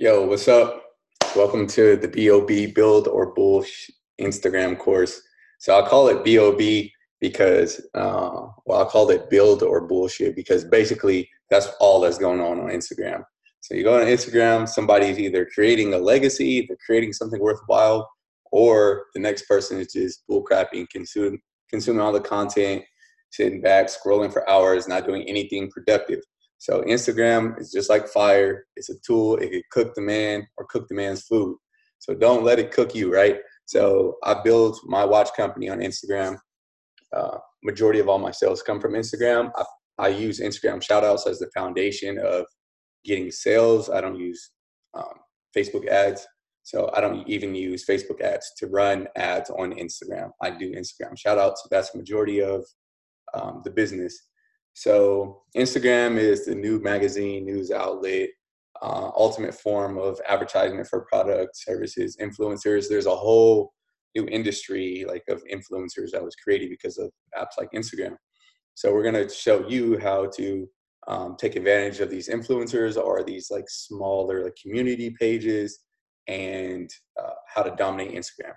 Yo, what's up? Welcome to the BOB Build or Bullsh Instagram course. So I call it BOB because, I called it Build or Bullshit because basically that's all that's going on Instagram. So you go on Instagram, somebody's either creating a legacy, they're creating something worthwhile, or the next person is just bullcrapping, consuming all the content, sitting back, scrolling for hours, not doing anything productive. So Instagram is just like fire. It's a tool. It could cook the man or cook the man's food. So don't let it cook you, right? So I build my watch company on Instagram. Majority of all my sales come from Instagram. I use Instagram shout outs as the foundation of getting sales. I don't use Facebook ads. So I don't even use Facebook ads to run ads on Instagram. I do Instagram shout outs. So that's the majority of the business. So Instagram is the new magazine, news outlet, ultimate form of advertisement for products, services, influencers. There's a whole new industry like of influencers that was created because of apps like Instagram. So we're going to show you how to take advantage of these influencers or these like smaller like community pages and how to dominate Instagram,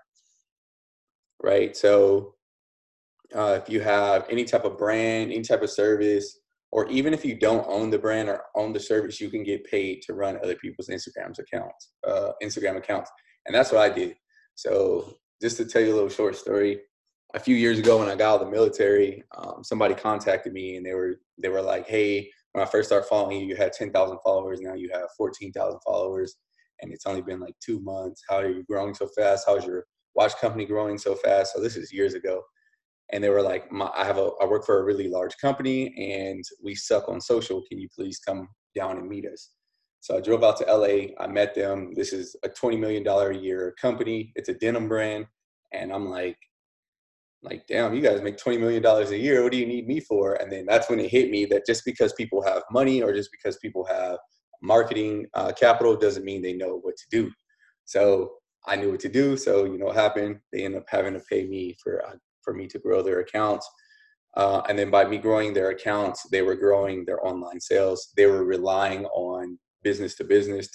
right? So if you have any type of brand, any type of service, or even if you don't own the brand or own the service, you can get paid to run other people's Instagram accounts. And that's what I did. So just to tell you a little short story, a few years ago when I got out of the military, somebody contacted me and they were like, "Hey, when I first started following you, you had 10,000 followers. Now you have 14,000 followers, and it's only been like 2 months. How are you growing so fast? How's your watch company growing so fast?" So this is years ago, and they were like, I work for a really large company and we suck on social. Can you please come down and meet us? So I drove out to LA. I met them. This is a $20 million a year company. It's a denim brand. And I'm like, damn, you guys make $20 million a year. What do you need me for? And then that's when it hit me that just because people have money or just because people have marketing capital doesn't mean they know what to do. So I knew what to do. So you know what happened? They ended up having to pay me for me to grow their accounts. And then by me growing their accounts, they were growing their online sales. They were relying on business to business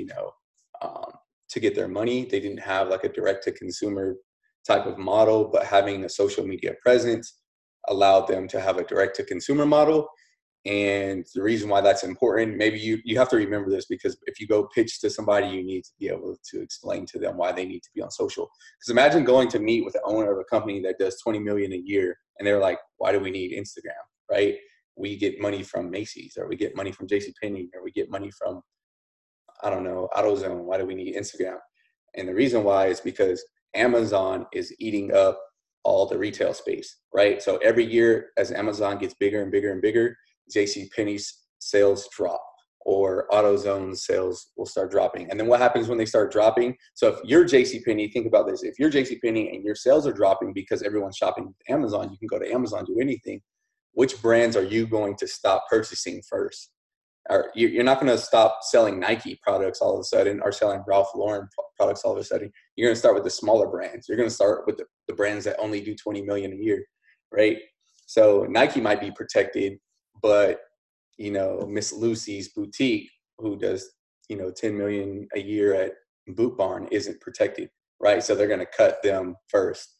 um, to get their money. They didn't have like a direct to consumer type of model, but having a social media presence allowed them to have a direct to consumer model. And the reason why that's important, maybe you have to remember this, because if you go pitch to somebody, you need to be able to explain to them why they need to be on social. Because imagine going to meet with the owner of a company that does 20 million a year, and they're like, "Why do we need Instagram?" Right? We get money from Macy's, or we get money from J.C. Penney, or we get money from, I don't know, AutoZone. Why do we need Instagram? And the reason why is because Amazon is eating up all the retail space, right? So every year as Amazon gets bigger and bigger and bigger, JC Penney's sales drop, or AutoZone sales will start dropping. And then what happens when they start dropping? So if you're JC Penney, think about this. If you're JC Penney and your sales are dropping because everyone's shopping with Amazon, you can go to Amazon, do anything. Which brands are you going to stop purchasing first? Or you're not going to stop selling Nike products all of a sudden, or selling Ralph Lauren products all of a sudden. You're going to start with the smaller brands. You're going to start with the brands that only do 20 million a year, right? So Nike might be protected, but Miss Lucy's boutique, who does 10 million a year at Boot Barn, isn't protected, right? So they're going to cut them first.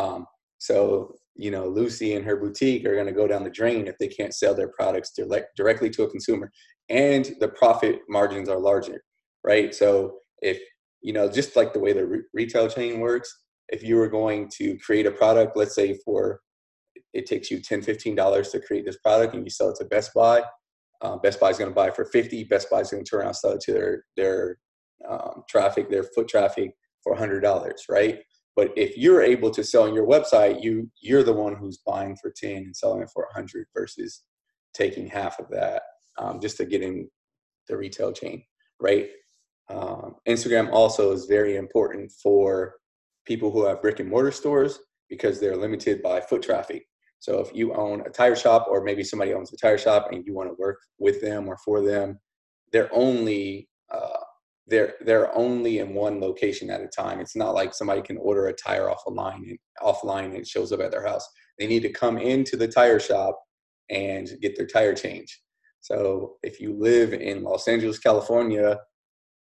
So Lucy and her boutique are going to go down the drain if they can't sell their products directly to a consumer, and the profit margins are larger, right? So if just like the way the retail chain works, if you were going to create a product, let's say it takes you $10-15 to create this product, and you sell it to Best Buy. Best Buy is going to buy for 50. Best Buy is going to turn around and sell it to their their foot traffic for $100, right? But if you're able to sell on your website, you're the one who's buying for 10 and selling it for 100 versus taking half of that just to get in the retail chain, right? Instagram also is very important for people who have brick and mortar stores because they're limited by foot traffic. So if you own a tire shop, or maybe somebody owns a tire shop and you want to work with them or for them, they're only they're only in one location at a time. It's not like somebody can order a tire offline and it shows up at their house. They need to come into the tire shop and get their tire changed. So if you live in Los Angeles, California,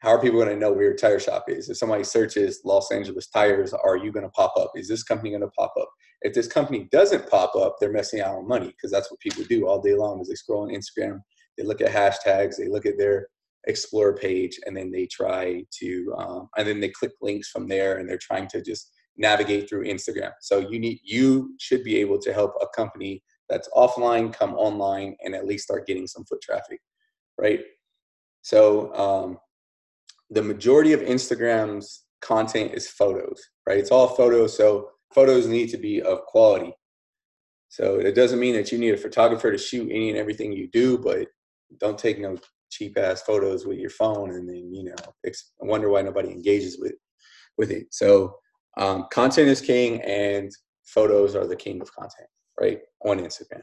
how are people going to know where your tire shop is? If somebody searches Los Angeles tires, are you going to pop up? Is this company going to pop up? If this company doesn't pop up, they're missing out on money, because that's what people do all day long is they scroll on Instagram, they look at hashtags, they look at their Explore page, and then they try to, and then they click links from there, and they're trying to just navigate through Instagram. So you should be able to help a company that's offline come online and at least start getting some foot traffic, right? So the majority of Instagram's content is photos, right? It's all photos, so photos need to be of quality. So it doesn't mean that you need a photographer to shoot any and everything you do, but don't take no cheap ass photos with your phone and then, you know, wonder why nobody engages with it. So content is king, and photos are the king of content, right, on Instagram.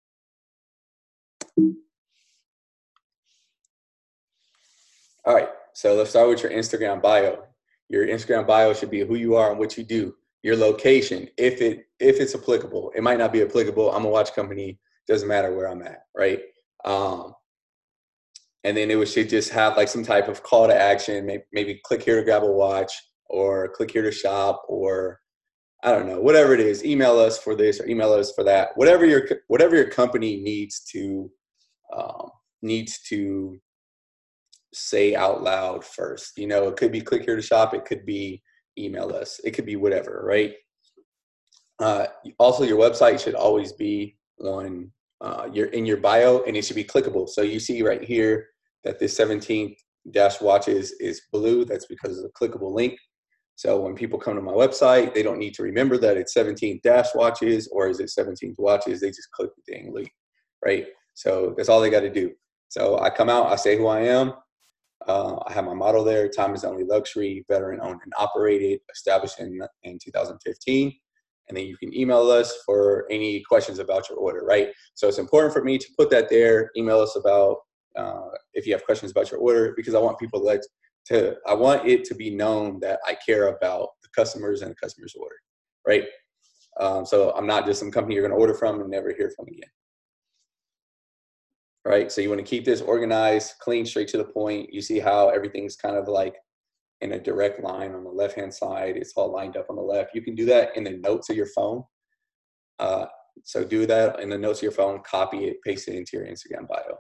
All right, so let's start with your Instagram bio. Your Instagram bio should be who you are and what you do. Your location, if it's applicable. It might not be applicable. I'm a watch company. Doesn't matter where I'm at, right? And then it should just have like some type of call to action. Maybe click here to grab a watch, or click here to shop, or I don't know, whatever it is. Email us for this or email us for that. Whatever your company needs to say out loud first. You know, it could be click here to shop. It could be email us. It could be whatever, right? Also, your website should always be on in your bio, and it should be clickable. So you see right here that this 17th dash watches is blue. That's because of the clickable link. So when people come to my website, they don't need to remember that it's 17th dash watches or is it 17th watches. They just click the dang link, right? So that's all they got to do. So I come out, I say who I am. I have my motto there: time is only luxury, veteran owned and operated, established in 2015. And then you can email us for any questions about your order, right? So it's important for me to put that there. Email us about if you have questions about your order, because I want people I want it to be known that I care about the customers and the customer's order, right? So I'm not just some company you're going to order from and never hear from again. Right, so you want to keep this organized, clean, straight to the point. You see how everything's kind of like in a direct line on the left-hand side. It's all lined up on the left. You can do that in the notes of your phone. So do that in the notes of your phone, copy it, paste it into your Instagram bio.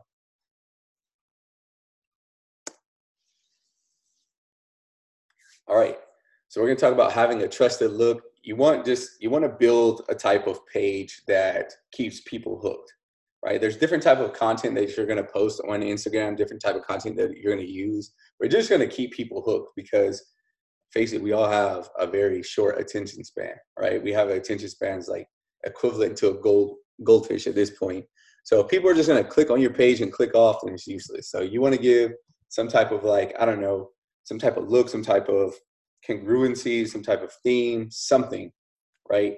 All right, so we're going to talk about having a trusted look. You want to build a type of page that keeps people hooked. Right? There's different type of content that you're going to post on Instagram, different type of content that you're going to use. We're just going to keep people hooked because, face it, we all have a very short attention span, right? We have attention spans like equivalent to a goldfish at this point. So if people are just going to click on your page and click off, then it's useless. So you want to give some type of like, I don't know, some type of look, some type of congruency, some type of theme, something, right?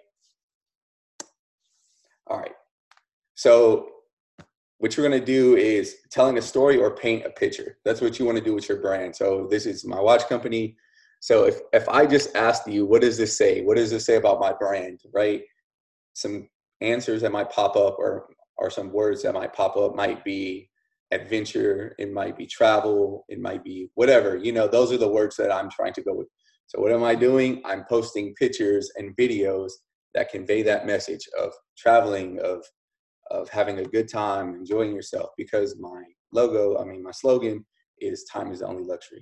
All right. So what you're going to do is telling a story or paint a picture. That's what you want to do with your brand. So this is my watch company. So if I just asked you, what does this say? What does this say about my brand, right? Some answers that might pop up or some words that might pop up might be adventure. It might be travel. It might be whatever. You know, those are the words that I'm trying to go with. So what am I doing? I'm posting pictures and videos that convey that message of traveling, of having a good time, enjoying yourself, because my slogan is time is the only luxury.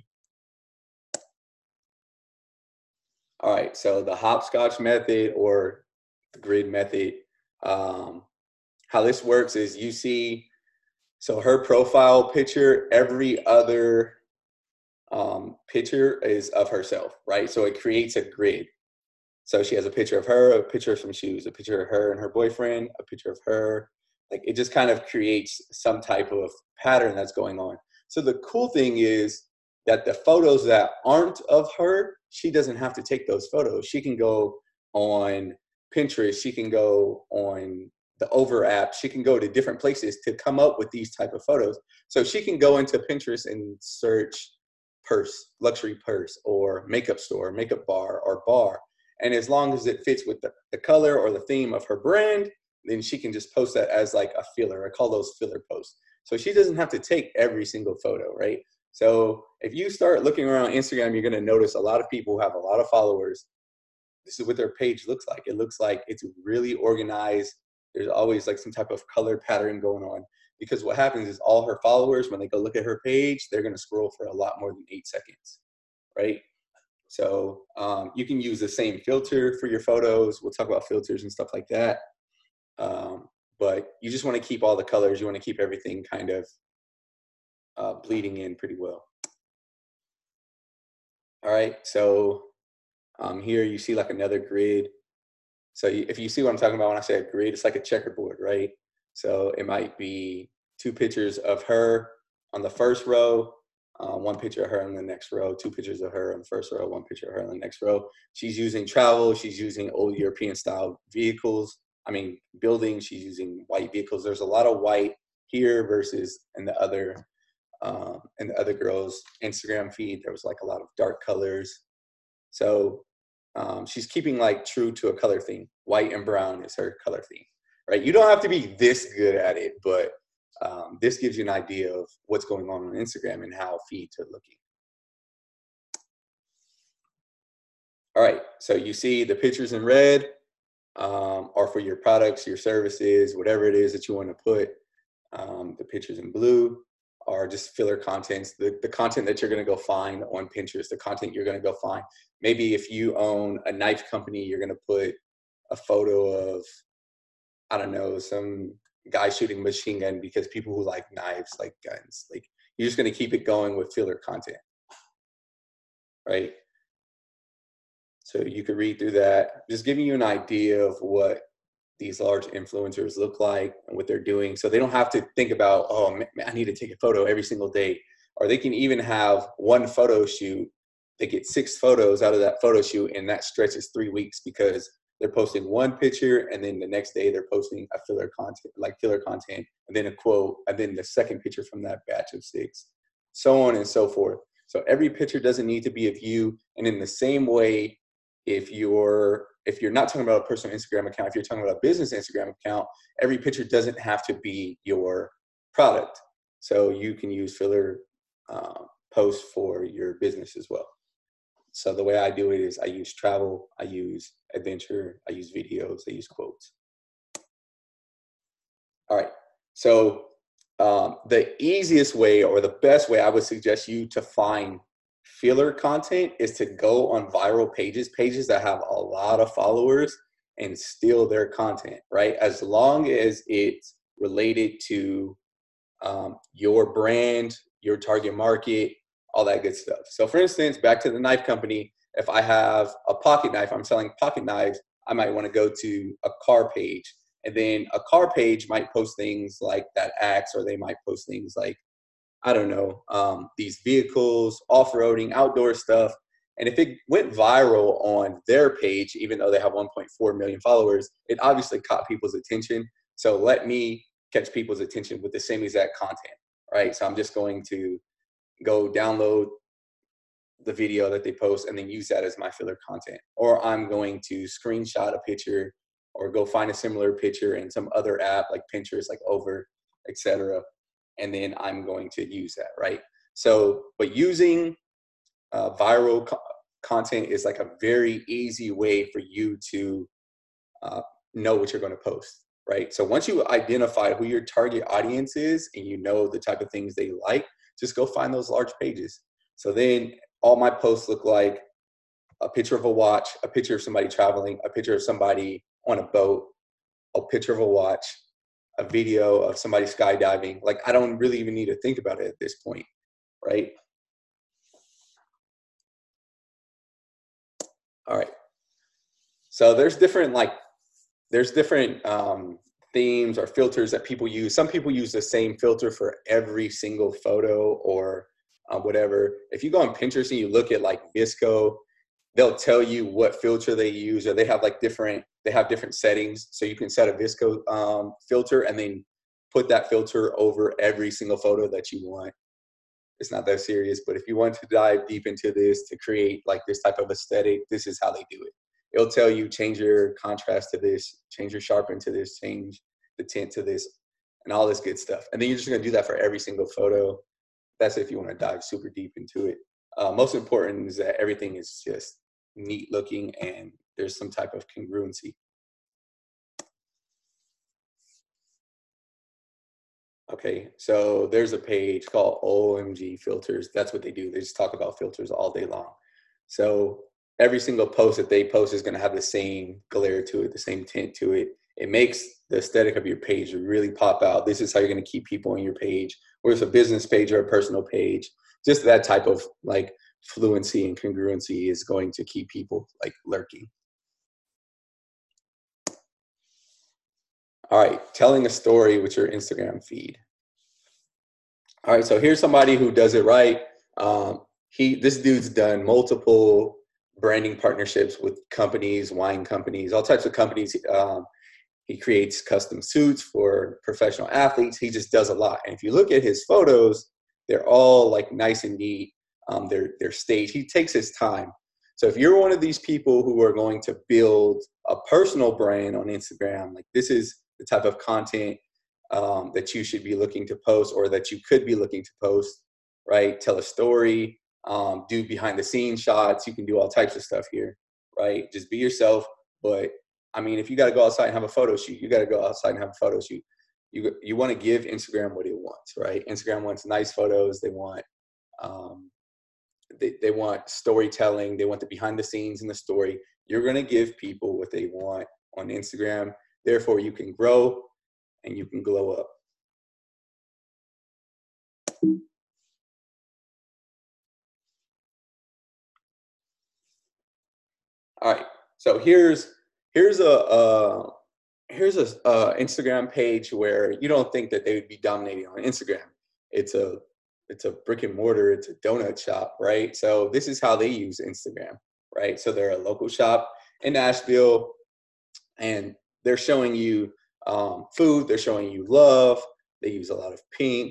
All right, so the hopscotch method or the grid method, how this works is you see, so her profile picture, every other picture is of herself, right? So it creates a grid. So she has a picture of her, a picture of some shoes, a picture of her and her boyfriend, a picture of her. Like it just kind of creates some type of pattern that's going on. So the cool thing is that the photos that aren't of her, she doesn't have to take those photos. She can go on Pinterest. She can go on the Over app. She can go to different places to come up with these type of photos. So she can go into Pinterest and search purse, luxury purse, or makeup store, makeup bar, or bar. And as long as it fits with the color or the theme of her brand, then she can just post that as like a filler. I call those filler posts. So she doesn't have to take every single photo, right? So if you start looking around Instagram, you're going to notice a lot of people who have a lot of followers. This is what their page looks like. It looks like it's really organized. There's always like some type of color pattern going on, because what happens is all her followers, when they go look at her page, they're going to scroll for a lot more than 8 seconds, right? So you can use the same filter for your photos. We'll talk about filters and stuff like that. But you just want to keep all the colors. You want to keep everything kind of bleeding in pretty well. All right, so here you see like another grid. So if you see what I'm talking about when I say a grid, it's like a checkerboard, right? So it might be 2 pictures of her on the first row, 1 picture of her in the next row, 2 pictures of her on the first row, 1 picture of her in the next row. She's using travel. She's using old European style vehicles. I mean, buildings. She's using white vehicles. There's a lot of white here versus in the other girl's Instagram feed. There was like a lot of dark colors. So she's keeping like true to a color theme. White and brown is her color theme, right? You don't have to be this good at it, but this gives you an idea of what's going on Instagram and how feeds are looking. All right, so you see the pictures in red are for your products, your services, whatever it is that you want to put. The pictures in blue are just filler contents, the content that you're going to go find on Pinterest, the content you're going to go find. Maybe if you own a knife company, you're going to put a photo of, I don't know, some guy shooting a machine gun, because people who like knives like guns. Like, you're just going to keep it going with filler content, right? So you could read through that, just giving you an idea of what these large influencers look like and what they're doing. So they don't have to think about, oh, man, I need to take a photo every single day. Or they can even have one photo shoot. They get 6 photos out of that photo shoot, and that stretches 3 weeks, because they're posting one picture, and then the next day they're posting a filler content, and then a quote, and then the second picture from that batch of 6, so on and so forth. So every picture doesn't need to be of you. And in the same way, if you're not talking about a personal Instagram account, if you're talking about a business Instagram account, every picture doesn't have to be your product. So you can use filler posts for your business as well. So the way I do it is I use travel, I use adventure, I use videos, I use quotes. All right. So the easiest way, or the best way I would suggest you to find filler content, is to go on viral pages that have a lot of followers, and steal their content, right? As long as it's related to your brand, your target market, all that good stuff. So for instance, back to the knife company, if I have a pocket knife, I'm selling pocket knives, I might want to go to a car page. And then a car page might post things like that axe, or they might post things like, I don't know, these vehicles, off-roading, outdoor stuff. And if it went viral on their page, even though they have 1.4 million followers, it obviously caught people's attention. So let me catch people's attention with the same exact content, right? So I'm just going to go download the video that they post and then use that as my filler content. Or I'm going to screenshot a picture, or go find a similar picture in some other app like Pinterest, like Over, etc. And then I'm going to use that, right? So, but using viral content is like a very easy way for you to know what you're going to post, right? So once you identify who your target audience is, and you know the type of things they like, just go find those large pages. So then all my posts look like a picture of a watch, a picture of somebody traveling, a picture of somebody on a boat, a picture of a watch, a video of somebody skydiving. Like, I don't really even need to think about it at this point, right? All right. So there's different themes or filters that people use. Some people use the same filter for every single photo, or whatever. If you go on Pinterest and you look at like VSCO, they'll tell you what filter they use, or they have different settings. So you can set a VSCO filter and then put that filter over every single photo that you want. It's not that serious, but if you want to dive deep into this to create like this type of aesthetic, this is how they do it. It'll tell you, change your contrast to this, change your sharpen to this, change the tint to this, and all this good stuff. And then you're just going to do that for every single photo. that's if you want to dive super deep into it. Most important is that everything is just neat looking and there's some type of congruency. Okay, so there's a page called OMG Filters. That's what they do. They just talk about filters all day long. So every single post that they post is going to have the same glare to it, the same tint to it. It makes the aesthetic of your page really pop out. This is how you're going to keep people on your page, whether it's a business page or a personal page. Just that type of like fluency and congruency is going to keep people like lurking. All right, telling a story with your Instagram feed. All right, so here's somebody who does it right. This dude's done multiple branding partnerships with companies, wine companies, all types of companies. He creates custom suits for professional athletes. He just does a lot. And if you look at his photos, they're all like nice and neat. They're staged. He takes his time. So if you're one of these people who are going to build a personal brand on Instagram, like this is the type of content that you should be looking to post, or that you could be looking to post, right? Tell a story, do behind the scenes shots. You can do all types of stuff here, right? Just be yourself. But I mean, if you got to go outside and have a photo shoot, you got to go outside and have a photo shoot. You want to give Instagram what it wants, right? Instagram wants nice photos. They want they want storytelling. They want the behind the scenes in the story. You're going to give people what they want on Instagram. Therefore, you can grow and you can glow up. All right. So here's a Instagram page where you don't think that they would be dominating on Instagram. It's a brick and mortar. It's a donut shop, right? So this is how they use Instagram, right? So they're a local shop in Nashville, and they're showing you food. They're showing you love. They use a lot of pink,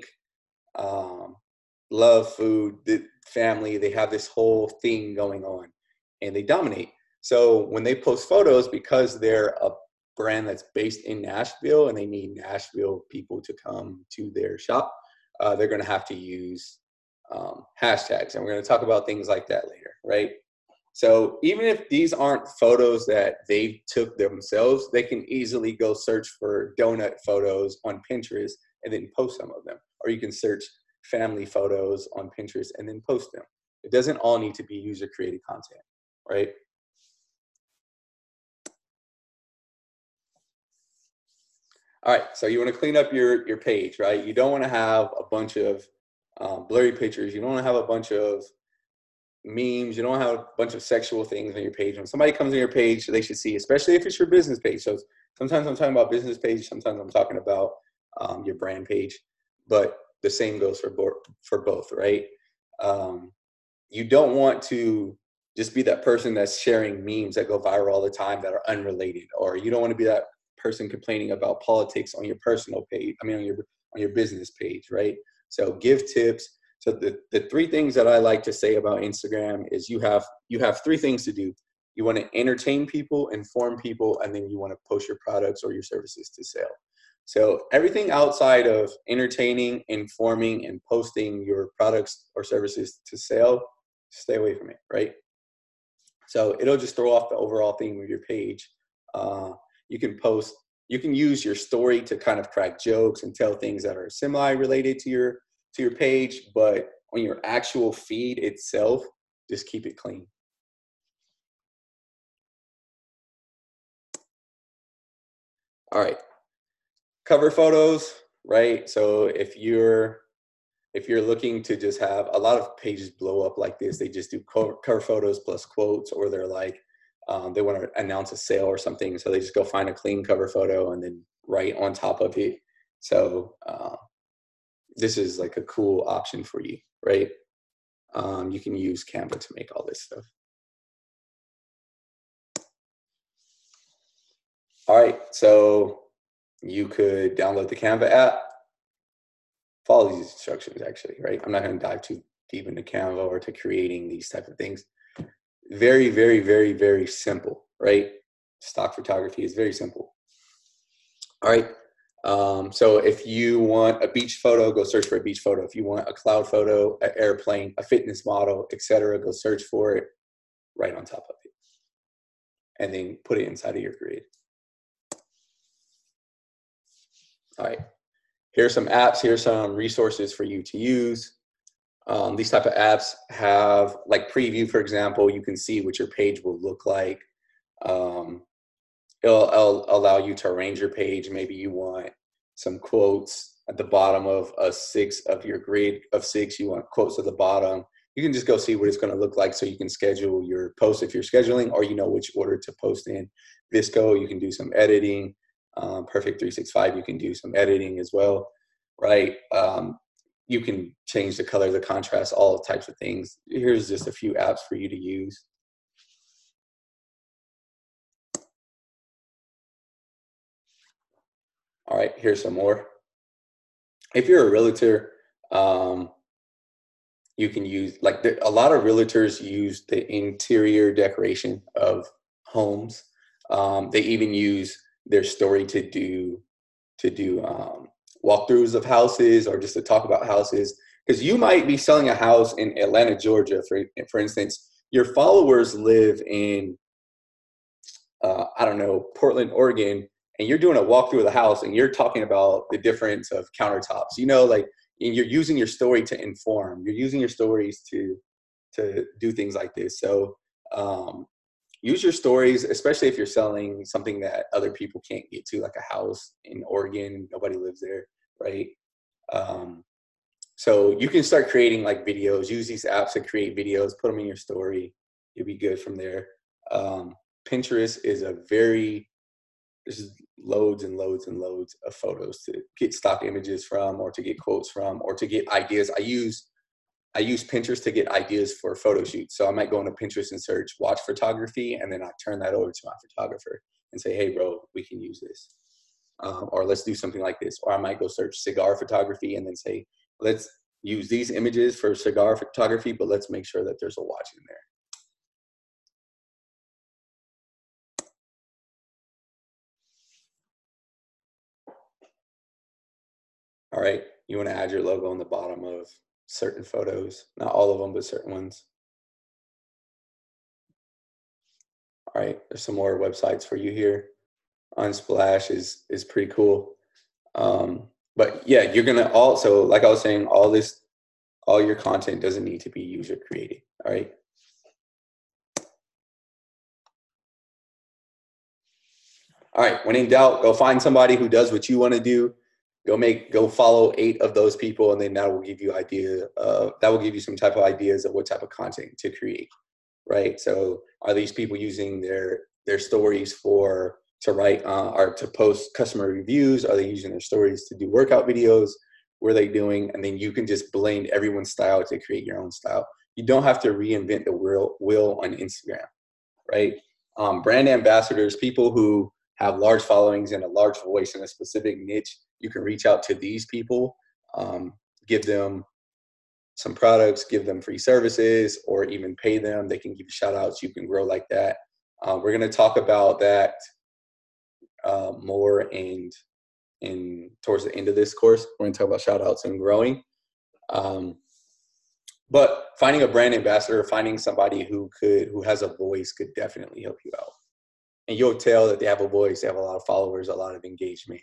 love, food, the family. They have this whole thing going on, and they dominate. So when they post photos, because they're a brand that's based in Nashville and they need Nashville people to come to their shop, they're going to have to use hashtags. And we're going to talk about things like that later, right? So even if these aren't photos that they took themselves, they can easily go search for donut photos on Pinterest and then post some of them. Or you can search family photos on Pinterest and then post them. It doesn't all need to be user created content, right? All right, so you want to clean up your page, right? You don't want to have a bunch of blurry pictures. You don't want to have a bunch of memes. You don't have a bunch of sexual things on your page. When somebody comes on your page, they should see, especially if it's your business page. So sometimes I'm talking about business page. Sometimes I'm talking about your brand page. But the same goes for both, right? You don't want to just be that person that's sharing memes that go viral all the time that are unrelated, or you don't want to be that person complaining about politics on your personal page. I mean, on your business page, right? So give tips. So the three things that I like to say about Instagram is you have three things to do. You want to entertain people, inform people, and then you want to post your products or your services to sell. So everything outside of entertaining, informing, and posting your products or services to sell, stay away from it, right? So it'll just throw off the overall theme of your page. You can use your story to kind of crack jokes and tell things that are semi-related to your page, but on your actual feed itself, just keep it clean. All right, cover photos, right? So if you're looking to just have a lot of pages blow up like this, they just do cover photos plus quotes, or they're like, they want to announce a sale or something. So they just go find a clean cover photo and then write on top of it. So this is like a cool option for you, right? You can use Canva to make all this stuff. All right, so you could download the Canva app, follow these instructions actually, right? I'm not gonna dive too deep into Canva or to creating these type of things. Very, very, very, very simple, right? Stock photography is very simple. All right, So if you want a beach photo, go search for a beach photo. If you want a cloud photo, an airplane, a fitness model, etc., go search for it right on top of it. And then put it inside of your grid. All right. Here's some apps. Here's some resources for you to use. These type of apps have, like Preview, for example, you can see what your page will look like. It'll allow you to arrange your page. Maybe you want some quotes at the bottom of a 6 of your grid of 6. You want quotes at the bottom. You can just go see what it's going to look like so you can schedule your posts if you're scheduling, or you know which order to post in. VSCO, you can do some editing. Perfect 365, you can do some editing as well, right? You can change the color, the contrast, all types of things. Here's just a few apps for you to use. All right, here's some more. If you're a realtor, you can use, like, a lot of realtors use the interior decoration of homes. They even use their story to do walkthroughs of houses, or just to talk about houses. Because you might be selling a house in Atlanta, Georgia, for instance. Your followers live in I don't know, Portland, Oregon, and you're doing a walkthrough of the house and you're talking about the difference of countertops, you know, like, and you're using your story to inform, you're using your stories to do things like this. So use your stories, especially if you're selling something that other people can't get to, like a house in Oregon, nobody lives there, right? So you can start creating like videos, use these apps to create videos, put them in your story. You'll be good from there. Pinterest is there's loads and loads and loads of photos to get stock images from, or to get quotes from, or to get ideas. I use Pinterest to get ideas for photo shoots. So I might go into Pinterest and search watch photography, and then I turn that over to my photographer and say, hey bro, we can use this. Or let's do something like this. Or I might go search cigar photography and then say, let's use these images for cigar photography, but let's make sure that there's a watch in there. All right, you want to add your logo on the bottom of certain photos, not all of them, but certain ones. All right, there's some more websites for you here. Unsplash is pretty cool. But yeah, you're gonna also, like I was saying, all your content doesn't need to be user created. All right. All right, when in doubt, go find somebody who does what you want to do. Go follow 8 of those people, and then that will give you some type of ideas of what type of content to create, right? So are these people using their stories to write or to post customer reviews? Are they using their stories to do workout videos? What are they doing? And then you can just blend everyone's style to create your own style. You don't have to reinvent the wheel on Instagram, right? Brand ambassadors, people who have large followings and a large voice in a specific niche, you can reach out to these people, give them some products, give them free services, or even pay them. They can give you shout outs. You can grow like that. We're going to talk about that more towards the end of this course. We're going to talk about shout outs and growing. But finding a brand ambassador, finding somebody who has a voice could definitely help you out. And you'll tell that they have a voice, they have a lot of followers, a lot of engagement.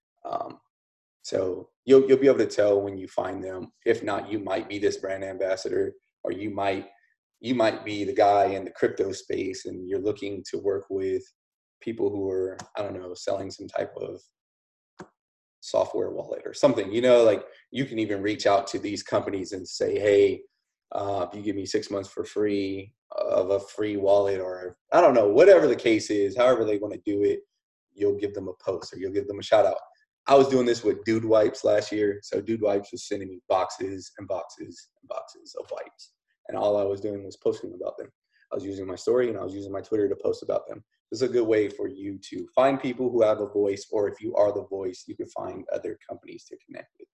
So you'll be able to tell when you find them. If not, you might be this brand ambassador, or you might be the guy in the crypto space and you're looking to work with people who are, I don't know, selling some type of software wallet or something. You know, like, you can even reach out to these companies and say, hey, if you give me 6 months for free of a free wallet, or I don't know, whatever the case is, however they want to do it, you'll give them a post or you'll give them a shout out. I was doing this with Dude Wipes last year. So Dude Wipes was sending me boxes and boxes and boxes of wipes. And all I was doing was posting about them. I was using my story and I was using my Twitter to post about them. This is a good way for you to find people who have a voice, or if you are the voice, you can find other companies to connect with.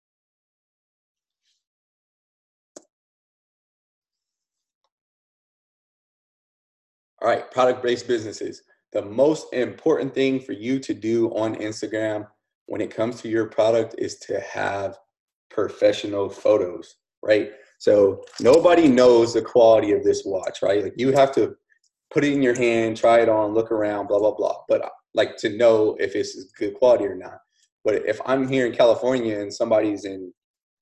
All right, product-based businesses. The most important thing for you to do on Instagram, when it comes to your product is to have professional photos, right? So nobody knows the quality of this watch, right? Like you have to put it in your hand, try it on, look around, blah, blah, blah. But like to know if it's good quality or not. But if I'm here in California and somebody's in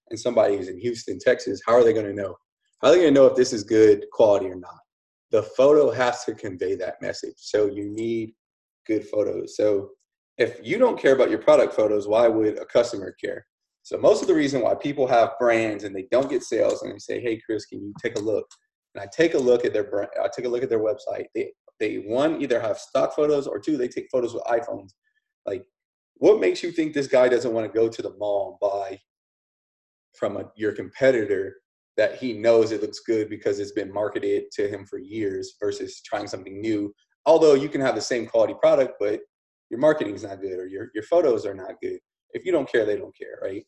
Houston, Texas, how are they going to know? How are they going to know if this is good quality or not? The photo has to convey that message. So you need good photos. So if you don't care about your product photos, why would a customer care? So most of the reason why people have brands and they don't get sales and they say, hey, Chris, can you take a look? And I take a look at their brand, I take a look at their website. They one, either have stock photos, or two, they take photos with iPhones. Like, what makes you think this guy doesn't want to go to the mall and buy from your competitor that he knows it looks good because it's been marketed to him for years versus trying something new? Although you can have the same quality product, but your marketing is not good or your photos are not good. If you don't care, they don't care, right?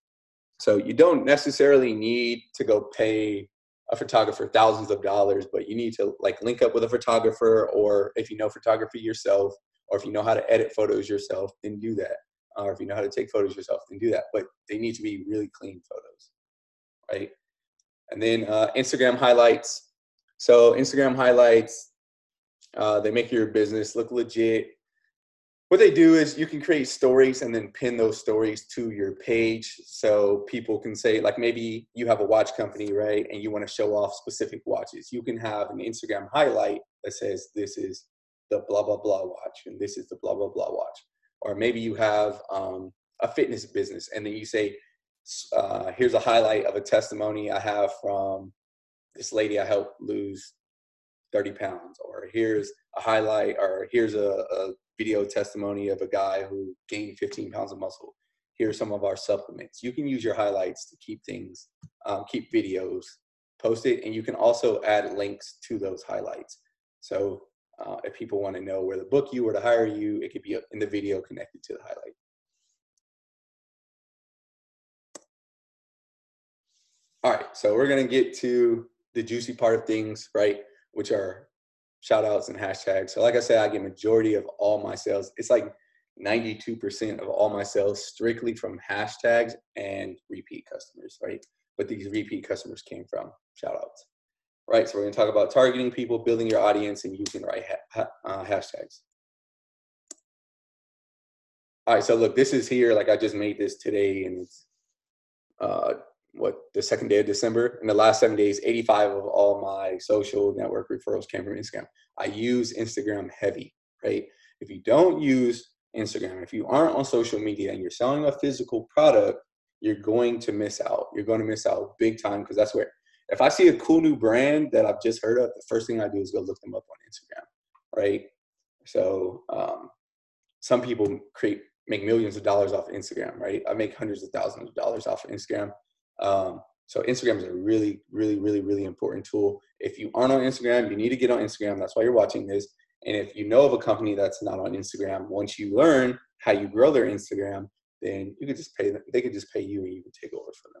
So you don't necessarily need to go pay a photographer thousands of dollars, but you need to like link up with a photographer, or if you know photography yourself, or if you know how to edit photos yourself, then do that. Or if you know how to take photos yourself, then do that. But they need to be really clean photos, right? And then Instagram highlights. So Instagram highlights, they make your business look legit. What they do is you can create stories and then pin those stories to your page. So people can say, like, maybe you have a watch company, right? And you want to show off specific watches. You can have an Instagram highlight that says, this is the blah, blah, blah watch, and this is the blah, blah, blah watch. Or maybe you have a fitness business, and then you say, here's a highlight of a testimony I have from this lady I helped lose 30 pounds, or here's a highlight, or here's a video testimony of a guy who gained 15 pounds of muscle. Here's some of our supplements. You can use your highlights to keep things, keep videos posted, and you can also add links to those highlights. So if people want to know where to book you or to hire you, it could be in the video connected to the highlight. All right, so we're gonna get to the juicy part of things, right? Which are shout outs and hashtags. So like I said, I get majority of all my sales. It's like 92% of all my sales strictly from hashtags and repeat customers, right? But these repeat customers came from shout outs, right? So we're gonna talk about targeting people, building your audience, and using the right hashtags. All right, so look, this is here, like I just made this today, and it's the second day of December. In the last 7 days, 85 of all my social network referrals came from Instagram. I use Instagram heavy, right? If you don't use Instagram, if you aren't on social media and you're selling a physical product, you're going to miss out. You're going to miss out big time, because that's where, if I see a cool new brand that I've just heard of, the first thing I do is go look them up on Instagram, right? So some people make millions of dollars off of Instagram, right? I make hundreds of thousands of dollars off of Instagram. So Instagram is a really, really, really, really important tool. If you aren't on Instagram, you need to get on Instagram. That's why you're watching this. And if you know of a company that's not on Instagram, once you learn how you grow their Instagram, then you could just pay them. They could just pay you, and you can take over for them.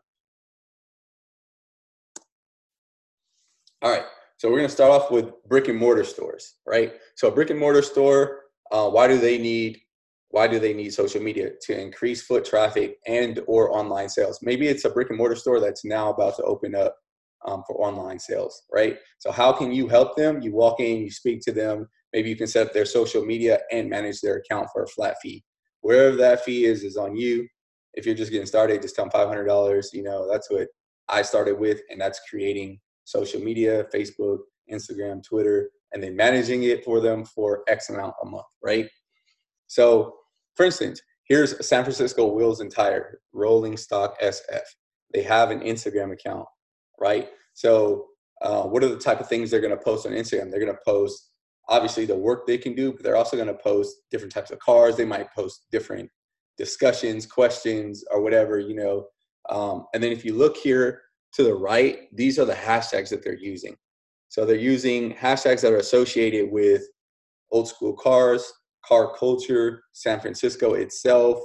All right. So we're going to start off with brick and mortar stores, right? So a brick and mortar store, why do they need social media? To increase foot traffic and or online sales. Maybe it's a brick and mortar store that's now about to open up for online sales, right? So how can you help them? You walk in, you speak to them. Maybe you can set up their social media and manage their account for a flat fee. Wherever that fee is on you. If you're just getting started, just tell them $500. You know, that's what I started with, and that's creating social media, Facebook, Instagram, Twitter, and then managing it for them for X amount a month, right? So, for instance, here's San Francisco Wheels and Tire, Rolling Stock SF. They have an Instagram account, right? So what are the type of things they're going to post on Instagram? They're going to post, obviously, the work they can do, but they're also going to post different types of cars. They might post different discussions, questions, or whatever, you know. And then if you look here to the right, these are the hashtags that they're using. So they're using hashtags that are associated with old school cars, car culture, San Francisco itself.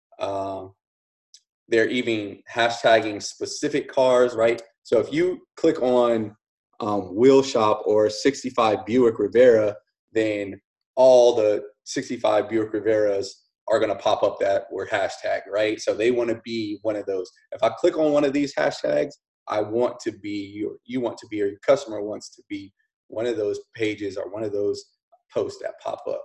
They're even hashtagging specific cars, right? So if you click on Wheel Shop or 65 Buick Rivera, then all the 65 Buick Riveras are going to pop up that were hashtag, right? So they want to be one of those. If I click on one of these hashtags, I want to be, or you want to be, or your customer wants to be one of those pages or one of those posts that pop up.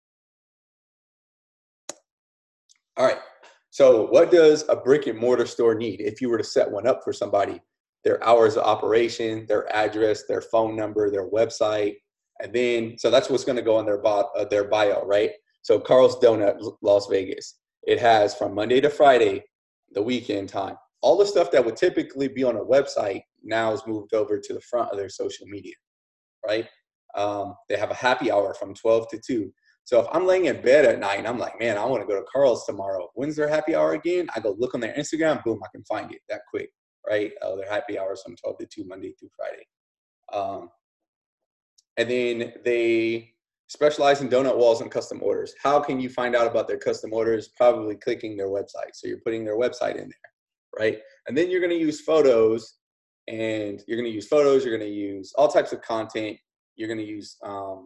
All right. So what does a brick and mortar store need if you were to set one up for somebody? Their hours of operation, their address, their phone number, their website, and then, so that's what's going to go on their bio, right? So Carl's Donut, Las Vegas. It has from Monday to Friday, the weekend time. All the stuff that would typically be on a website now is moved over to the front of their social media, right? They have a happy hour from 12 to 2. So if I'm laying in bed at night and I'm like, man, I want to go to Carl's tomorrow. When's their happy hour again? I go look on their Instagram, boom, I can find it that quick, right? Their happy hours from 12 to 2, Monday through Friday. And then they specialize in donut walls and custom orders. How can you find out about their custom orders? Probably clicking their website. So you're putting their website in there, right? And then you're going to use photos, and you're going to use all types of content. You're going to use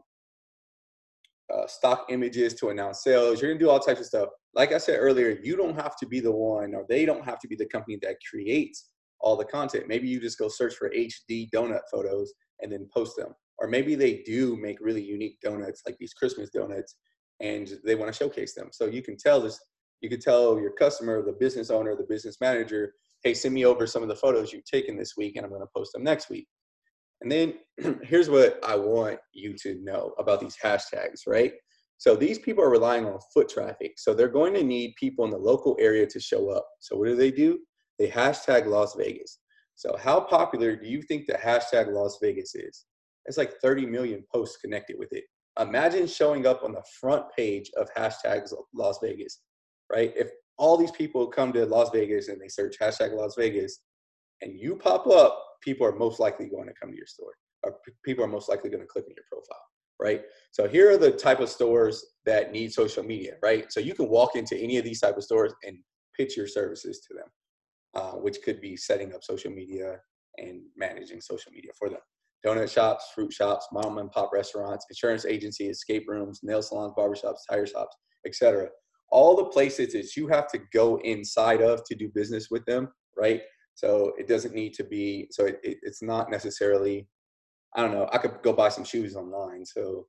stock images to announce sales. You're going to do all types of stuff. Like I said earlier, you don't have to be the one, or they don't have to be the company that creates all the content. Maybe you just go search for HD donut photos and then post them. Or maybe they do make really unique donuts, like these Christmas donuts, and they want to showcase them. So you can tell your customer, the business owner, the business manager, hey, send me over some of the photos you've taken this week, and I'm going to post them next week. And then here's what I want you to know about these hashtags, right? So these people are relying on foot traffic. So they're going to need people in the local area to show up. So what do? They hashtag Las Vegas. So how popular do you think the hashtag Las Vegas is? It's like 30 million posts connected with it. Imagine showing up on the front page of hashtags Las Vegas, right? If all these people come to Las Vegas and they search hashtag Las Vegas and you pop up, people are most likely going to come to your store, or people are most likely going to click on your profile, right? So here are the type of stores that need social media, right? So you can walk into any of these type of stores and pitch your services to them, which could be setting up social media and managing social media for them. Donut shops, fruit shops, mom and pop restaurants, insurance agencies, escape rooms, nail salons, barbershops, tire shops, etc. All the places that you have to go inside of to do business with them, right? So it doesn't need to be, so it's not necessarily, I don't know, I could go buy some shoes online. So,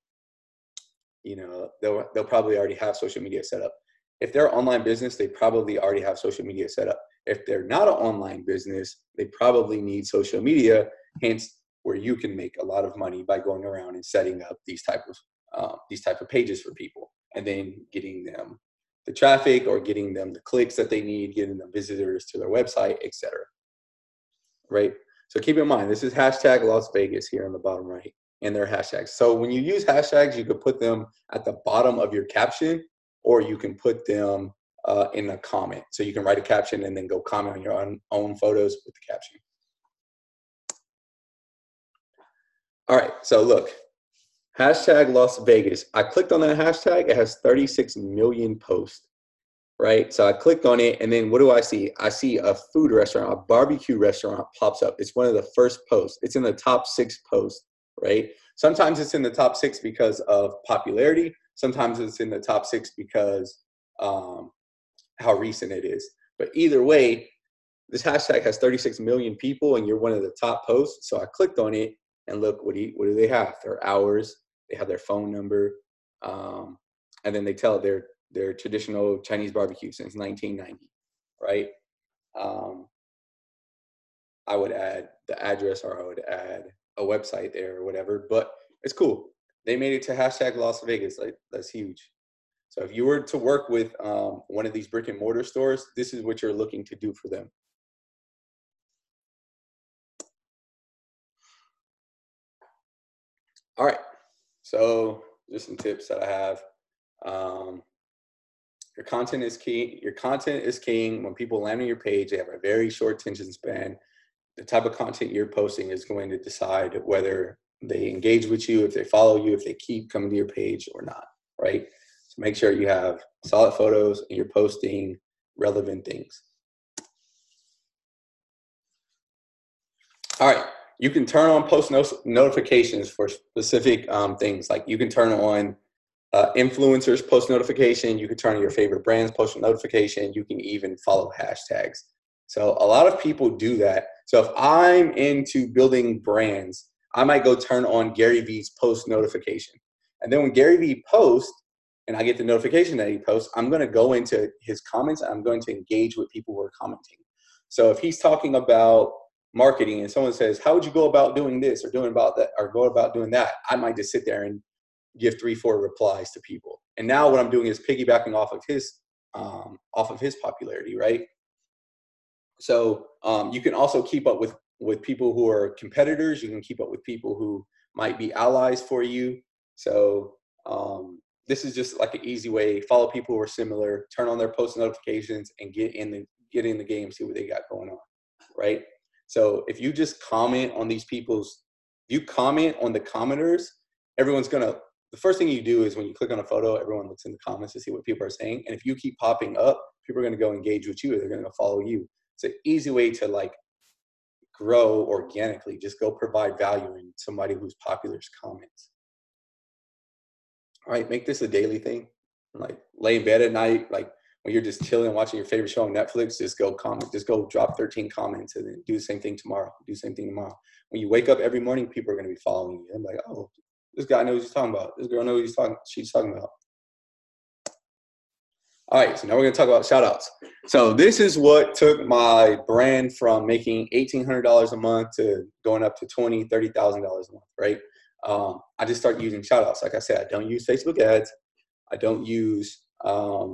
you know, they'll probably already have social media set up. If they're an online business, they probably already have social media set up. If they're not an online business, they probably need social media, hence where you can make a lot of money by going around and setting up these type of pages for people, and then getting them the traffic or getting them the clicks that they need, getting them visitors to their website, etc. Right? So keep in mind, this is hashtag Las Vegas here on the bottom right, and their hashtags. So when you use hashtags, you could put them at the bottom of your caption, or you can put them in a comment. So you can write a caption and then go comment on your own photos with the caption. All right, so look, hashtag Las Vegas. I clicked on that hashtag. It has 36 million posts, right? So I clicked on it, and then what do I see? I see a food restaurant, a barbecue restaurant pops up. It's one of the first posts. It's in the top 6 posts, right? Sometimes it's in the top 6 because of popularity. Sometimes it's in the top 6 because how recent it is. But either way, this hashtag has 36 million people, and you're one of the top posts. So I clicked on it, and look, what do they have? Their hours, they have their phone number, and then they tell their traditional Chinese barbecue since 1990, right? I would add the address, or I would add a website there or whatever, but it's cool. They made it to hashtag Las Vegas. Like, that's huge. So if you were to work with one of these brick and mortar stores, this is what you're looking to do for them. All right, so just some tips that I have. Your content is key. Your content is king. When people land on your page, they have a very short attention span. The type of content you're posting is going to decide whether they engage with you, if they follow you, if they keep coming to your page or not, right? So make sure you have solid photos and you're posting relevant things. All right, you can turn on post notifications for specific things. Like you can turn on Influencers post notification. You can turn on your favorite brands post notification. You can even follow hashtags. So a lot of people do that. So if I'm into building brands, I might go turn on Gary Vee's post notification. And then when Gary Vee posts and I get the notification that he posts, I'm going to go into his comments. And I'm going to engage with people who are commenting. So if he's talking about marketing and someone says, how would you go about doing this or doing about that or go about doing that? I might just sit there and give 3-4 replies to people. And now what I'm doing is piggybacking off of his popularity, right? So you can also keep up with people who are competitors. You can keep up with people who might be allies for you. So this is just like an easy way. Follow people who are similar, turn on their post notifications, and get in the game, see what they got going on, right? So if you just comment on these you comment on the commenters, the first thing you do is when you click on a photo, everyone looks in the comments to see what people are saying. And if you keep popping up, people are going to go engage with you. They're going to follow you. It's an easy way to like grow organically. Just go provide value in somebody who's popular's comments. All right, make this a daily thing. Like lay in bed at night, like when you're just chilling, watching your favorite show on Netflix, just go comment. Just go drop 13 comments and then do the same thing tomorrow. Do the same thing tomorrow. When you wake up every morning, people are going to be following you. I'm like, oh, this guy knows what he's talking about. This girl knows what she's talking about. All right, so now we're going to talk about shout outs. So this is what took my brand from making $1,800 a month to going up to $20,000, $30,000 a month, right? I just started using shout outs. Like I said, I don't use Facebook ads. I don't use a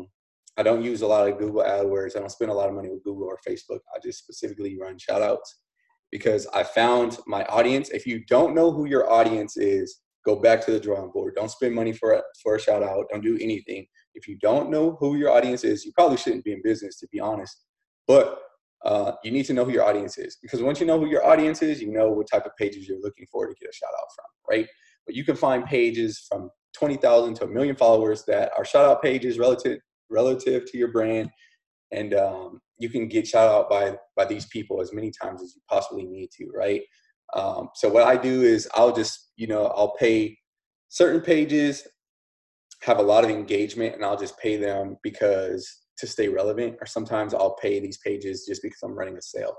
lot of Google AdWords. I don't spend a lot of money with Google or Facebook. I just specifically run shout outs because I found my audience. If you don't know who your audience is, go back to the drawing board. Don't spend money for a shout out. Don't do anything. If you don't know who your audience is, you probably shouldn't be in business, to be honest. But you need to know who your audience is, because once you know who your audience is, you know what type of pages you're looking for to get a shout out from, right? But you can find pages from 20,000 to 1 million followers that are shout out pages relative to your brand. And you can get shout out by these people as many times as you possibly need to, right? So what I do is I'll pay certain pages, have a lot of engagement, and I'll just pay them to stay relevant. Or sometimes I'll pay these pages just because I'm running a sale.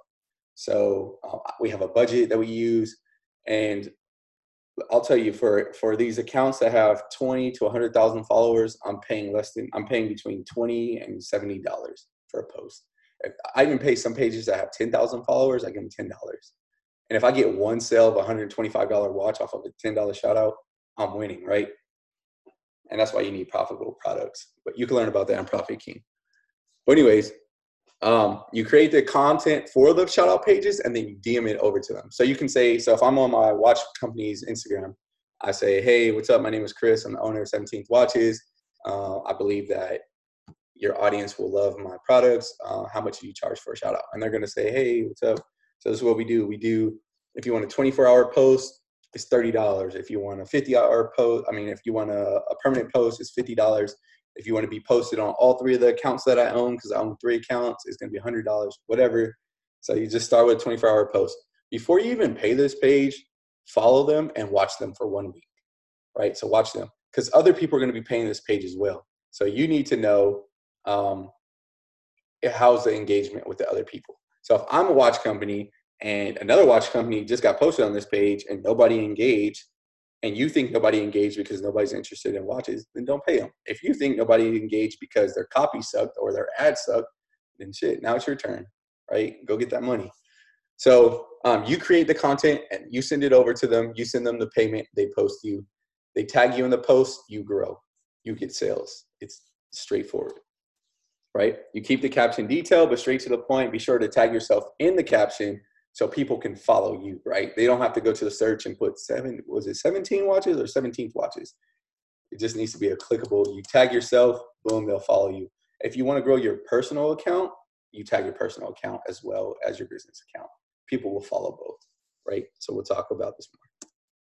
So we have a budget that we use, and I'll tell you, for these accounts that have 20 to 100,000 followers, I'm paying between $20 and $70 for a post. I even pay some pages that have 10,000 followers. I give them $10. And if I get one sale of $125 watch off of a $10 shout out, I'm winning, right? And that's why you need profitable products. But you can learn about that on Profit King. But anyways, you create the content for the shout out pages and then you DM it over to them. So you can say, so if I'm on my watch company's Instagram, I say, hey, what's up? My name is Chris. I'm the owner of 17th Watches. I believe that your audience will love my products. How much do you charge for a shout out? And they're going to say, hey, what's up? So this is what we do. If you want a 24-hour post, it's $30. If you want a 50-hour post, if you want a permanent post, it's $50. If you want to be posted on all 3 of the accounts that I own, because I own 3 accounts, it's going to be $100, whatever. So you just start with a 24-hour post. Before you even pay this page, follow them and watch them for 1 week, right? So watch them, because other people are going to be paying this page as well. So you need to know how's the engagement with the other people. So if I'm a watch company and another watch company just got posted on this page and nobody engaged, and you think nobody engaged because nobody's interested in watches, then don't pay them. If you think nobody engaged because their copy sucked or their ad sucked, then shit, now it's your turn, right? Go get that money. So you create the content and you send it over to them. You send them the payment. They post you. They tag you in the post. You grow. You get sales. It's straightforward, right? You keep the caption detailed, but straight to the point. Be sure to tag yourself in the caption so people can follow you, right? They don't have to go to the search and put 17 watches or 17th watches. It just needs to be a clickable. You tag yourself, boom, they'll follow you. If you want to grow your personal account, you tag your personal account as well as your business account. People will follow both, right? So we'll talk about this more.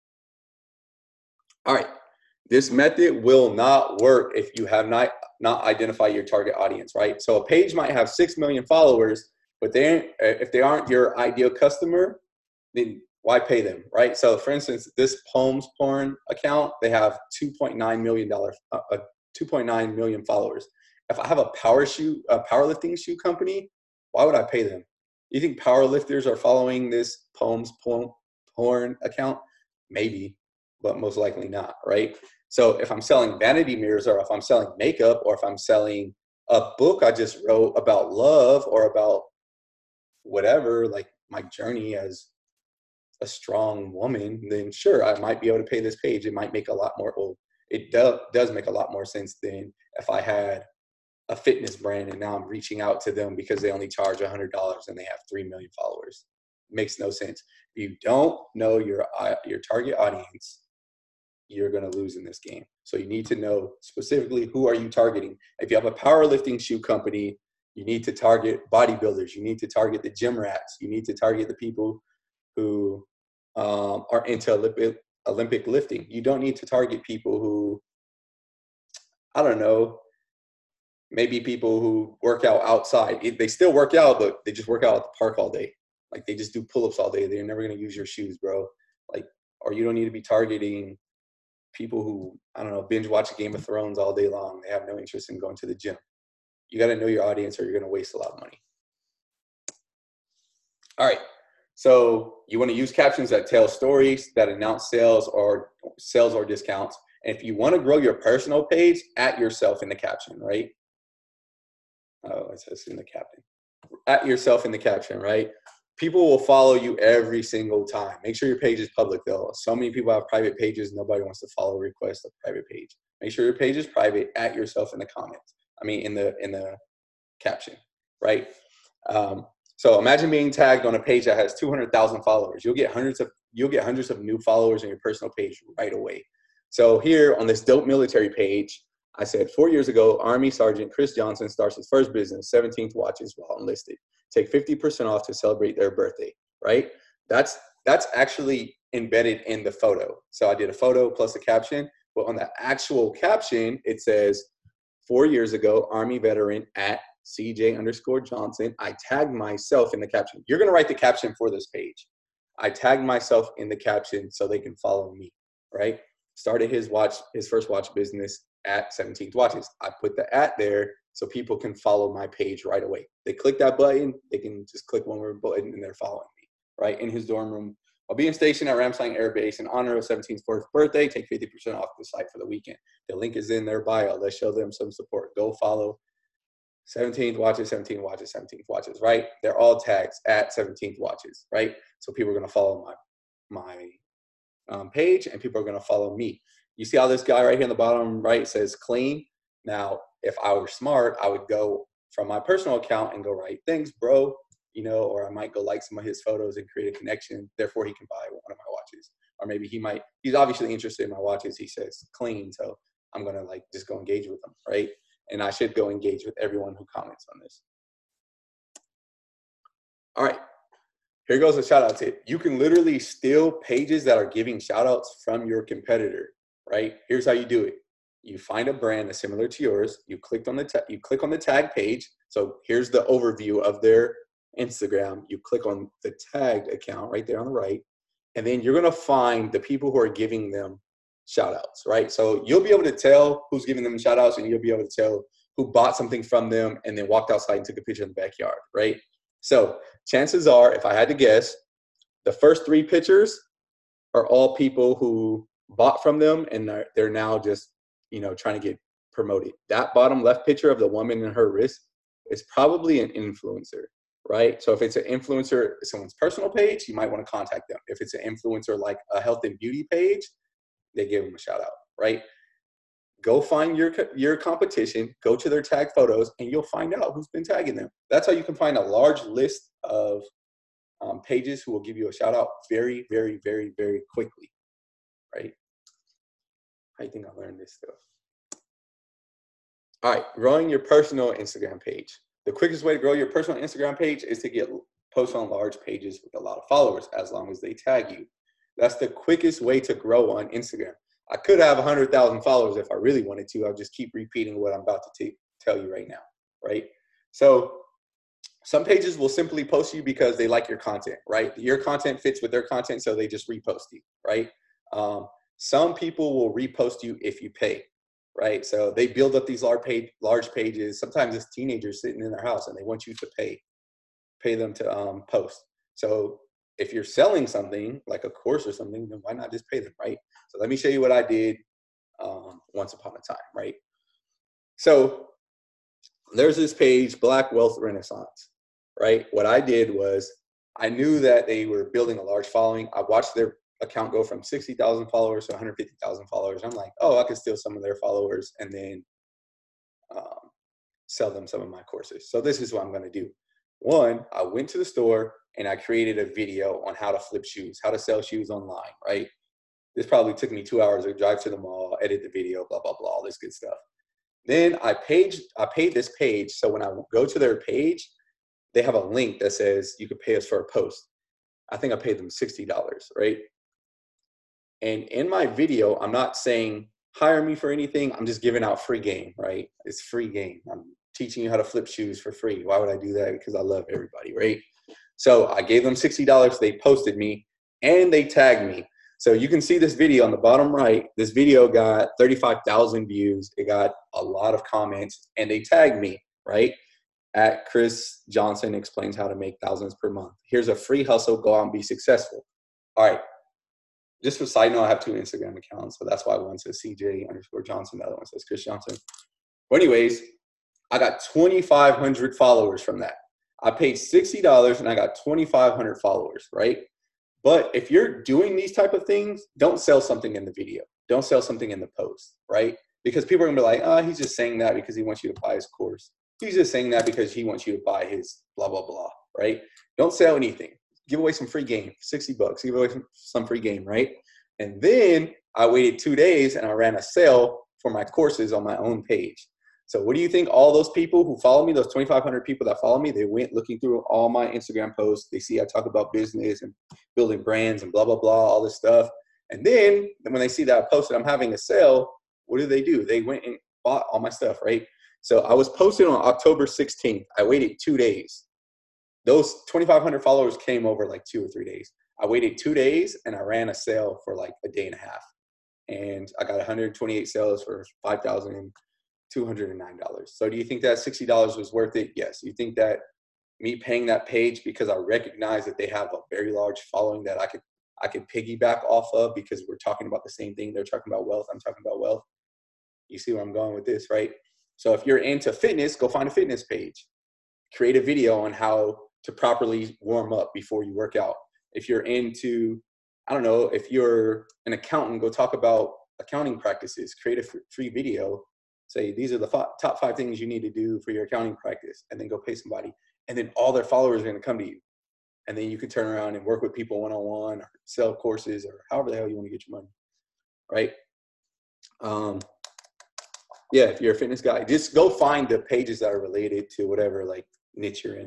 All right. This method will not work if you have not identified your target audience, right? So a page might have 6 million followers, but if they aren't your ideal customer, then why pay them, right? So for instance, this Poems Porn account, they have $2.9 million followers. If I have a powerlifting shoe company, why would I pay them? You think powerlifters are following this Poems Porn account? Maybe, but most likely not, right? So if I'm selling vanity mirrors, or if I'm selling makeup, or if I'm selling a book I just wrote about love, or about whatever, like my journey as a strong woman, then sure, I might be able to pay this page. It might make a lot more, well, it does make a lot more sense than if I had a fitness brand and now I'm reaching out to them because they only charge $100 and they have 3 million followers. It makes no sense. If you don't know your target audience, you're going to lose in this game. So you need to know specifically who are you targeting. If you have a powerlifting shoe company, you need to target bodybuilders. You need to target the gym rats. You need to target the people who are into Olympic lifting. You don't need to target people who, I don't know, maybe people who work out outside. They still work out, but they just work out at the park all day. Like they just do pull-ups all day. They're never going to use your shoes, bro. Like, or you don't need to be targeting people who, I don't know, binge watch Game of Thrones all day long. They have no interest in going to the gym. You got to know your audience or you're going to waste a lot of money. All right. So you want to use captions that tell stories, that announce sales or discounts. And if you want to grow your personal page, at yourself in the caption, right? Oh, it says in the caption. At yourself in the caption, right? People will follow you every single time. Make sure your page is public, though. So many people have private pages. Nobody wants to follow request a private page. Make sure your page is private. At yourself in the comments. I mean, in the caption, right? So imagine being tagged on a page that has 200,000 followers. You'll get hundreds of new followers on your personal page right away. So here on this Dope Military page, I said 4 years ago, Army Sergeant Chris Johnson starts his first business, 17th Watches, while enlisted. Take 50% off to celebrate their birthday, right? That's actually embedded in the photo. So I did a photo plus a caption, but on the actual caption, it says 4 years ago, Army veteran at CJ_Johnson. I tagged myself in the caption. You're going to write the caption for this page. I tagged myself in the caption so they can follow me, right? Started his first watch business at 17th Watches. I put the at there so people can follow my page right away. They click that button, they can just click one more button and they're following me, right? In his dorm room. I'll be stationed at Ramstein Air Base in honor of 17's 4th birthday. Take 50% off the site for the weekend. The link is in their bio. Let's show them some support. Go follow 17th Watches, 17th Watches, 17th Watches, right? They're all tags at 17th Watches, right? So people are going to follow my page and people are going to follow me. You see how this guy right here in the bottom right says clean? Now, if I were smart, I would go from my personal account and go write, thanks, bro, you know, or I might go like some of his photos and create a connection. Therefore, he can buy one of my watches. Or maybe he's obviously interested in my watches. He says clean. So I'm going to just go engage with him, right? And I should go engage with everyone who comments on this. All right. Here goes a shout out tip. You can literally steal pages that are giving shout outs from your competitor, right? Here's how you do it. You find a brand that's similar to yours. You click on the tag page. So here's the overview of their Instagram. You click on the tagged account right there on the right. And then you're going to find the people who are giving them shout outs, right? So you'll be able to tell who's giving them shout outs and you'll be able to tell who bought something from them and then walked outside and took a picture in the backyard, right? So chances are, if I had to guess, the first 3 pictures are all people who bought from them and they're now just, you know, trying to get promoted. That bottom left picture of the woman and her wrist is probably an influencer, right? So if it's an influencer, someone's personal page, you might want to contact them. If it's an influencer like a health and beauty page, they give them a shout out, right? Go find your competition, go to their tag photos, and you'll find out who's been tagging them. That's how you can find a large list of pages who will give you a shout out very, very, very, very quickly, right? I think I learned this stuff. All right, growing your personal Instagram page. The quickest way to grow your personal Instagram page is to post on large pages with a lot of followers, as long as they tag you. That's the quickest way to grow on Instagram. I could have 100,000 followers if I really wanted to. I'll just keep repeating what I'm about to tell you right now, right? So Some pages will simply post you because they like your content, right? Your content fits with their content, so they just repost you, right? Some people will repost you if you pay, right? So they build up these large pages. Sometimes it's teenagers sitting in their house and they want you to pay them to post. So if you're selling something like a course or something, then why not just pay them, right? So let me show you what I did once upon a time, right? So there's this page, Black Wealth Renaissance, right? What I did was I knew that they were building a large following. I watched their account go from 60,000 followers to 150,000 followers. I'm like, oh, I could steal some of their followers and then sell them some of my courses. So this is what I'm going to do. One, I went to the store and I created a video on how to flip shoes, how to sell shoes online, right? This probably took me 2 hours to drive to the mall, edit the video, blah, blah, blah, all this good stuff. Then I paid this page. So when I go to their page, they have a link that says you could pay us for a post. I think I paid them $60, right? And in my video, I'm not saying hire me for anything. I'm just giving out free game, right? It's free game. I'm teaching you how to flip shoes for free. Why would I do that? Because I love everybody, right? So I gave them $60. They posted me and they tagged me. So you can see this video on the bottom right. This video got 35,000 views. It got a lot of comments and they tagged me, right? At Chris Johnson explains how to make thousands per month. Here's a free hustle. Go out and be successful. All right. Just for side note, I have 2 Instagram accounts. So that's why one says CJ_Johnson. The other one says Chris Johnson. But anyways, I got 2,500 followers from that. I paid $60 and I got 2,500 followers, right? But if you're doing these type of things, don't sell something in the video. Don't sell something in the post, right? Because people are gonna be like, oh, he's just saying that because he wants you to buy his course. He's just saying that because he wants you to buy his blah, blah, blah, right? Don't sell anything. Give away some free game, $60. Give away some free game, right? And then I waited 2 days and I ran a sale for my courses on my own page. So what do you think all those people who follow me, those 2,500 people that follow me, they went looking through all my Instagram posts. They see I talk about business and building brands and blah, blah, blah, all this stuff. And then when they see that I posted I'm having a sale, what do? They went and bought all my stuff, right? So I was posted on October 16th. I waited 2 days. Those 2,500 followers came over like 2 or 3 days. I waited 2 days and I ran a sale for like a day and a half. And I got 128 sales for $5,209. So do you think that $60 was worth it? Yes. You think that me paying that page because I recognize that they have a very large following that I could piggyback off of because we're talking about the same thing. They're talking about wealth. I'm talking about wealth. You see where I'm going with this, right? So if you're into fitness, go find a fitness page. Create a video on how to properly warm up before you work out. If you're into, I don't know, if you're an accountant, go talk about accounting practices. Create a free video. Say, these are the top 5 things you need to do for your accounting practice, and then go pay somebody. And then all their followers are going to come to you. And then you can turn around and work with people one-on-one or sell courses or however the hell you want to get your money, right? Yeah, if you're a fitness guy, just go find the pages that are related to whatever like niche you're in.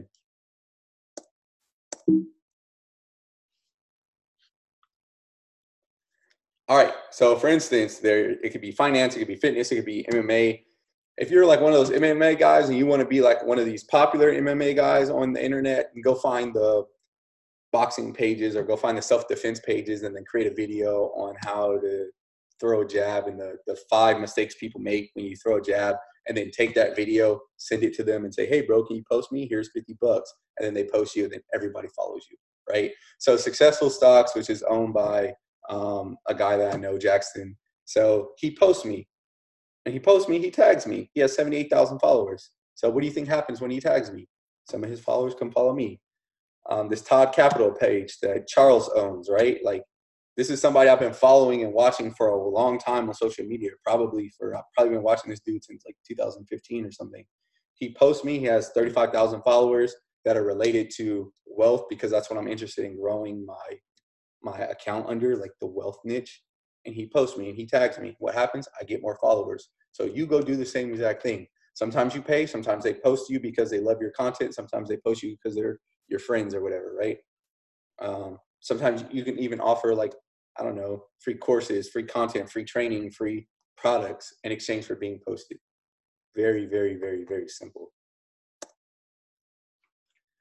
All right. So for instance, it could be finance, it could be fitness, it could be MMA. If you're like one of those MMA guys and you want to be like one of these popular MMA guys on the internet, go find the boxing pages or go find the self-defense pages and then create a video on how to throw a jab and the 5 mistakes people make when you throw a jab, and then take that video, send it to them and say, hey bro, can you post me? Here's $50. And then they post you and then everybody follows you, right? So Successful Stocks, which is owned by a guy that I know, Jackson. So he posts me and he tags me. He has 78,000 followers. So what do you think happens when he tags me? Some of his followers come follow me. This Todd Capital page that Charles owns, right? Like, this is somebody I've been following and watching for a long time on social media. I've probably been watching this dude since like 2015 or something. He posts me. He has 35,000 followers that are related to wealth because that's what I'm interested in growing my account under, like the wealth niche. And he posts me and he tags me. What happens? I get more followers. So you go do the same exact thing. Sometimes you pay. Sometimes they post you because they love your content. Sometimes they post you because they're your friends or whatever, right? Sometimes you can even offer like, I don't know, free courses, free content, free training, free products in exchange for being posted. Very, very, very, very simple.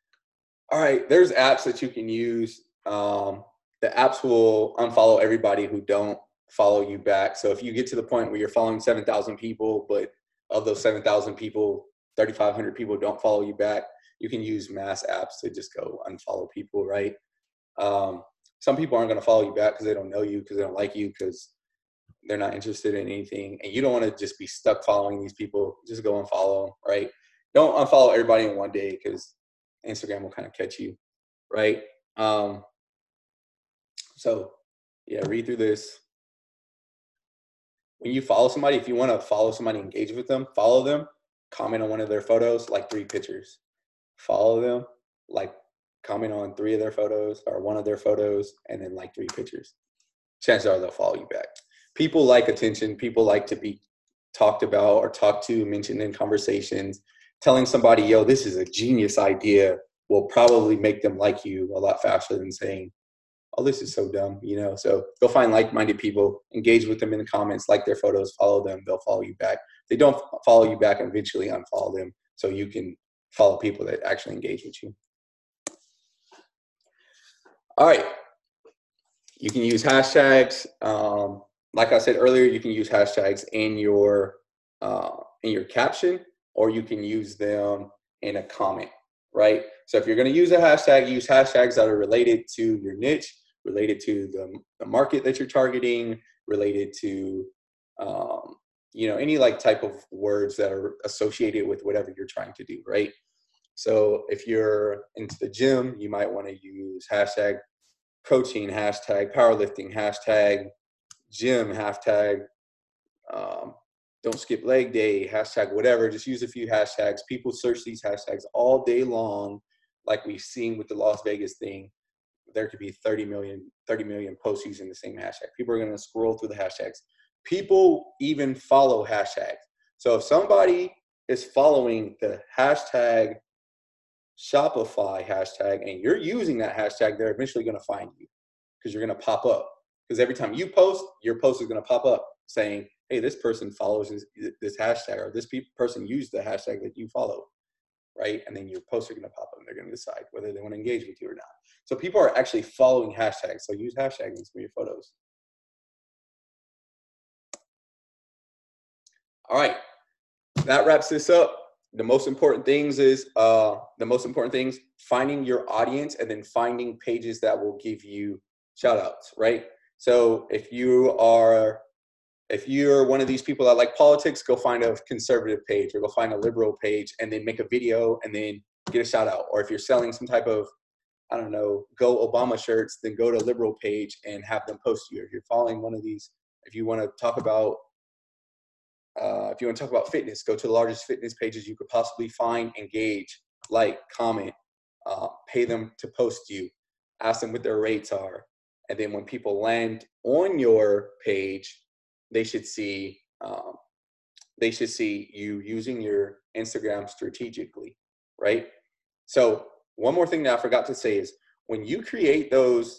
All right, there's apps that you can use. The apps will unfollow everybody who don't follow you back. So if you get to the point where you're following 7,000 people, but of those 7,000 people, 3,500 people don't follow you back, you can use mass apps to just go unfollow people, right? Um, some people aren't going to follow you back because they don't know you, because they don't like you, because they're not interested in anything. And you don't want to just be stuck following these people. Just go and follow them, right? Don't unfollow everybody in one day, because Instagram will kind of catch you, right? Um, so yeah, read through this. When you follow somebody, if you want to follow somebody, engage with them, follow them, comment on one of their photos, like 3 pictures. Follow them, like comment on 3 of their photos or one of their photos, and then like 3 pictures. Chances are they'll follow you back. People like attention. People like to be talked about or talked to, mentioned in conversations. Telling somebody, yo, this is a genius idea, will probably make them like you a lot faster than saying, oh, this is so dumb, you know? So go find like-minded people, engage with them in the comments, like their photos, follow them, they'll follow you back. If they don't follow you back, eventually unfollow them so you can follow people that actually engage with you. All right. You can use hashtags. Like I said earlier, you can use hashtags in your caption, or you can use them in a comment, right? So if you're going to use a hashtag, use hashtags that are related to your niche, related to the market that you're targeting, related to any like type of words that are associated with whatever you're trying to do, right? So if you're into the gym, you might want to use hashtag protein, hashtag powerlifting, hashtag gym, hashtag don't skip leg day, hashtag whatever. Just use a few hashtags. People search these hashtags all day long, like we've seen with the Las Vegas thing. There could be 30 million posts using the same hashtag. People are going to scroll through the hashtags. People even follow hashtags. So if somebody is following the hashtag Shopify hashtag and you're using that hashtag, they're eventually going to find you, because you're going to pop up. Because every time you post, your post is going to pop up saying, hey, this person follows this hashtag, or this person used the hashtag that you follow, right? And then your posts are going to pop up and they're going to decide whether they want to engage with you or not. So people are actually following hashtags. So use hashtags in some of your photos. All right, that wraps this up. The most important things finding your audience, and then finding pages that will give you shout outs, right? So if you're one of these people that like politics, go find a conservative page, or go find a liberal page, and then make a video and then get a shout out. Or if you're selling some type of, I don't know, Go Obama shirts, then go to a liberal page and have them post you. If you're following one of these, if you want to talk about fitness, go to the largest fitness pages you could possibly find, engage, like, comment, pay them to post you, ask them what their rates are. And then when people land on your page, they should see you using your Instagram strategically, right? So one more thing that I forgot to say is, when you create those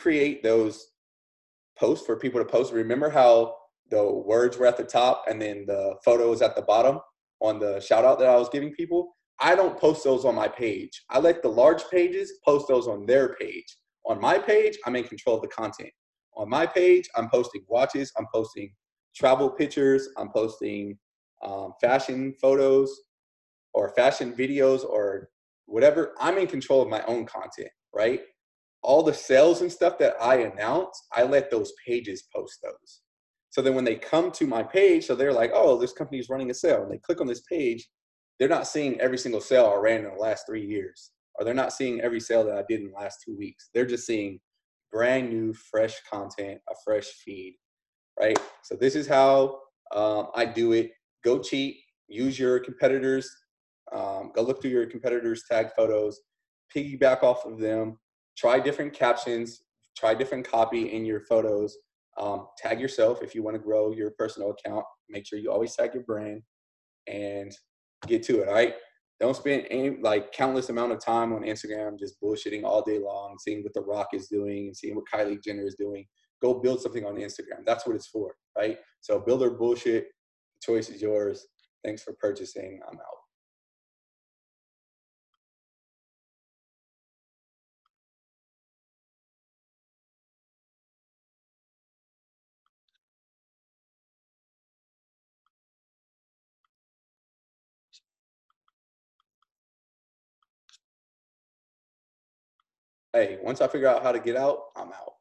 posts for people to post, remember how the words were at the top and then the photo was at the bottom on the shout out that I was giving people? I don't post those on my page. I let the large pages post those on their page. On my page, I'm in control of the content. On my page, I'm posting watches, I'm posting travel pictures, I'm posting fashion photos or fashion videos or whatever. I'm in control of my own content, right? All the sales and stuff that I announce, I let those pages post those. So then when they come to my page, so they're like, oh, this company is running a sale, and they click on this page, they're not seeing every single sale I ran in the last 3 years, or they're not seeing every sale that I did in the last 2 weeks. They're just seeing brand new, fresh content, a fresh feed, right? So this is how I do it. Go cheat, use your competitors, go look through your competitors' tag photos, piggyback off of them, try different captions, try different copy in your photos, tag yourself if you want to grow your personal account. Make sure you always tag your brand and get to it, all right? Don't spend countless amount of time on Instagram just bullshitting all day long, seeing what The Rock is doing and seeing what Kylie Jenner is doing. Go build something on Instagram. That's what it's for, right? So build or bullshit. The choice is yours. Thanks for purchasing. I'm out. hey, once I figure out how to get out, I'm out.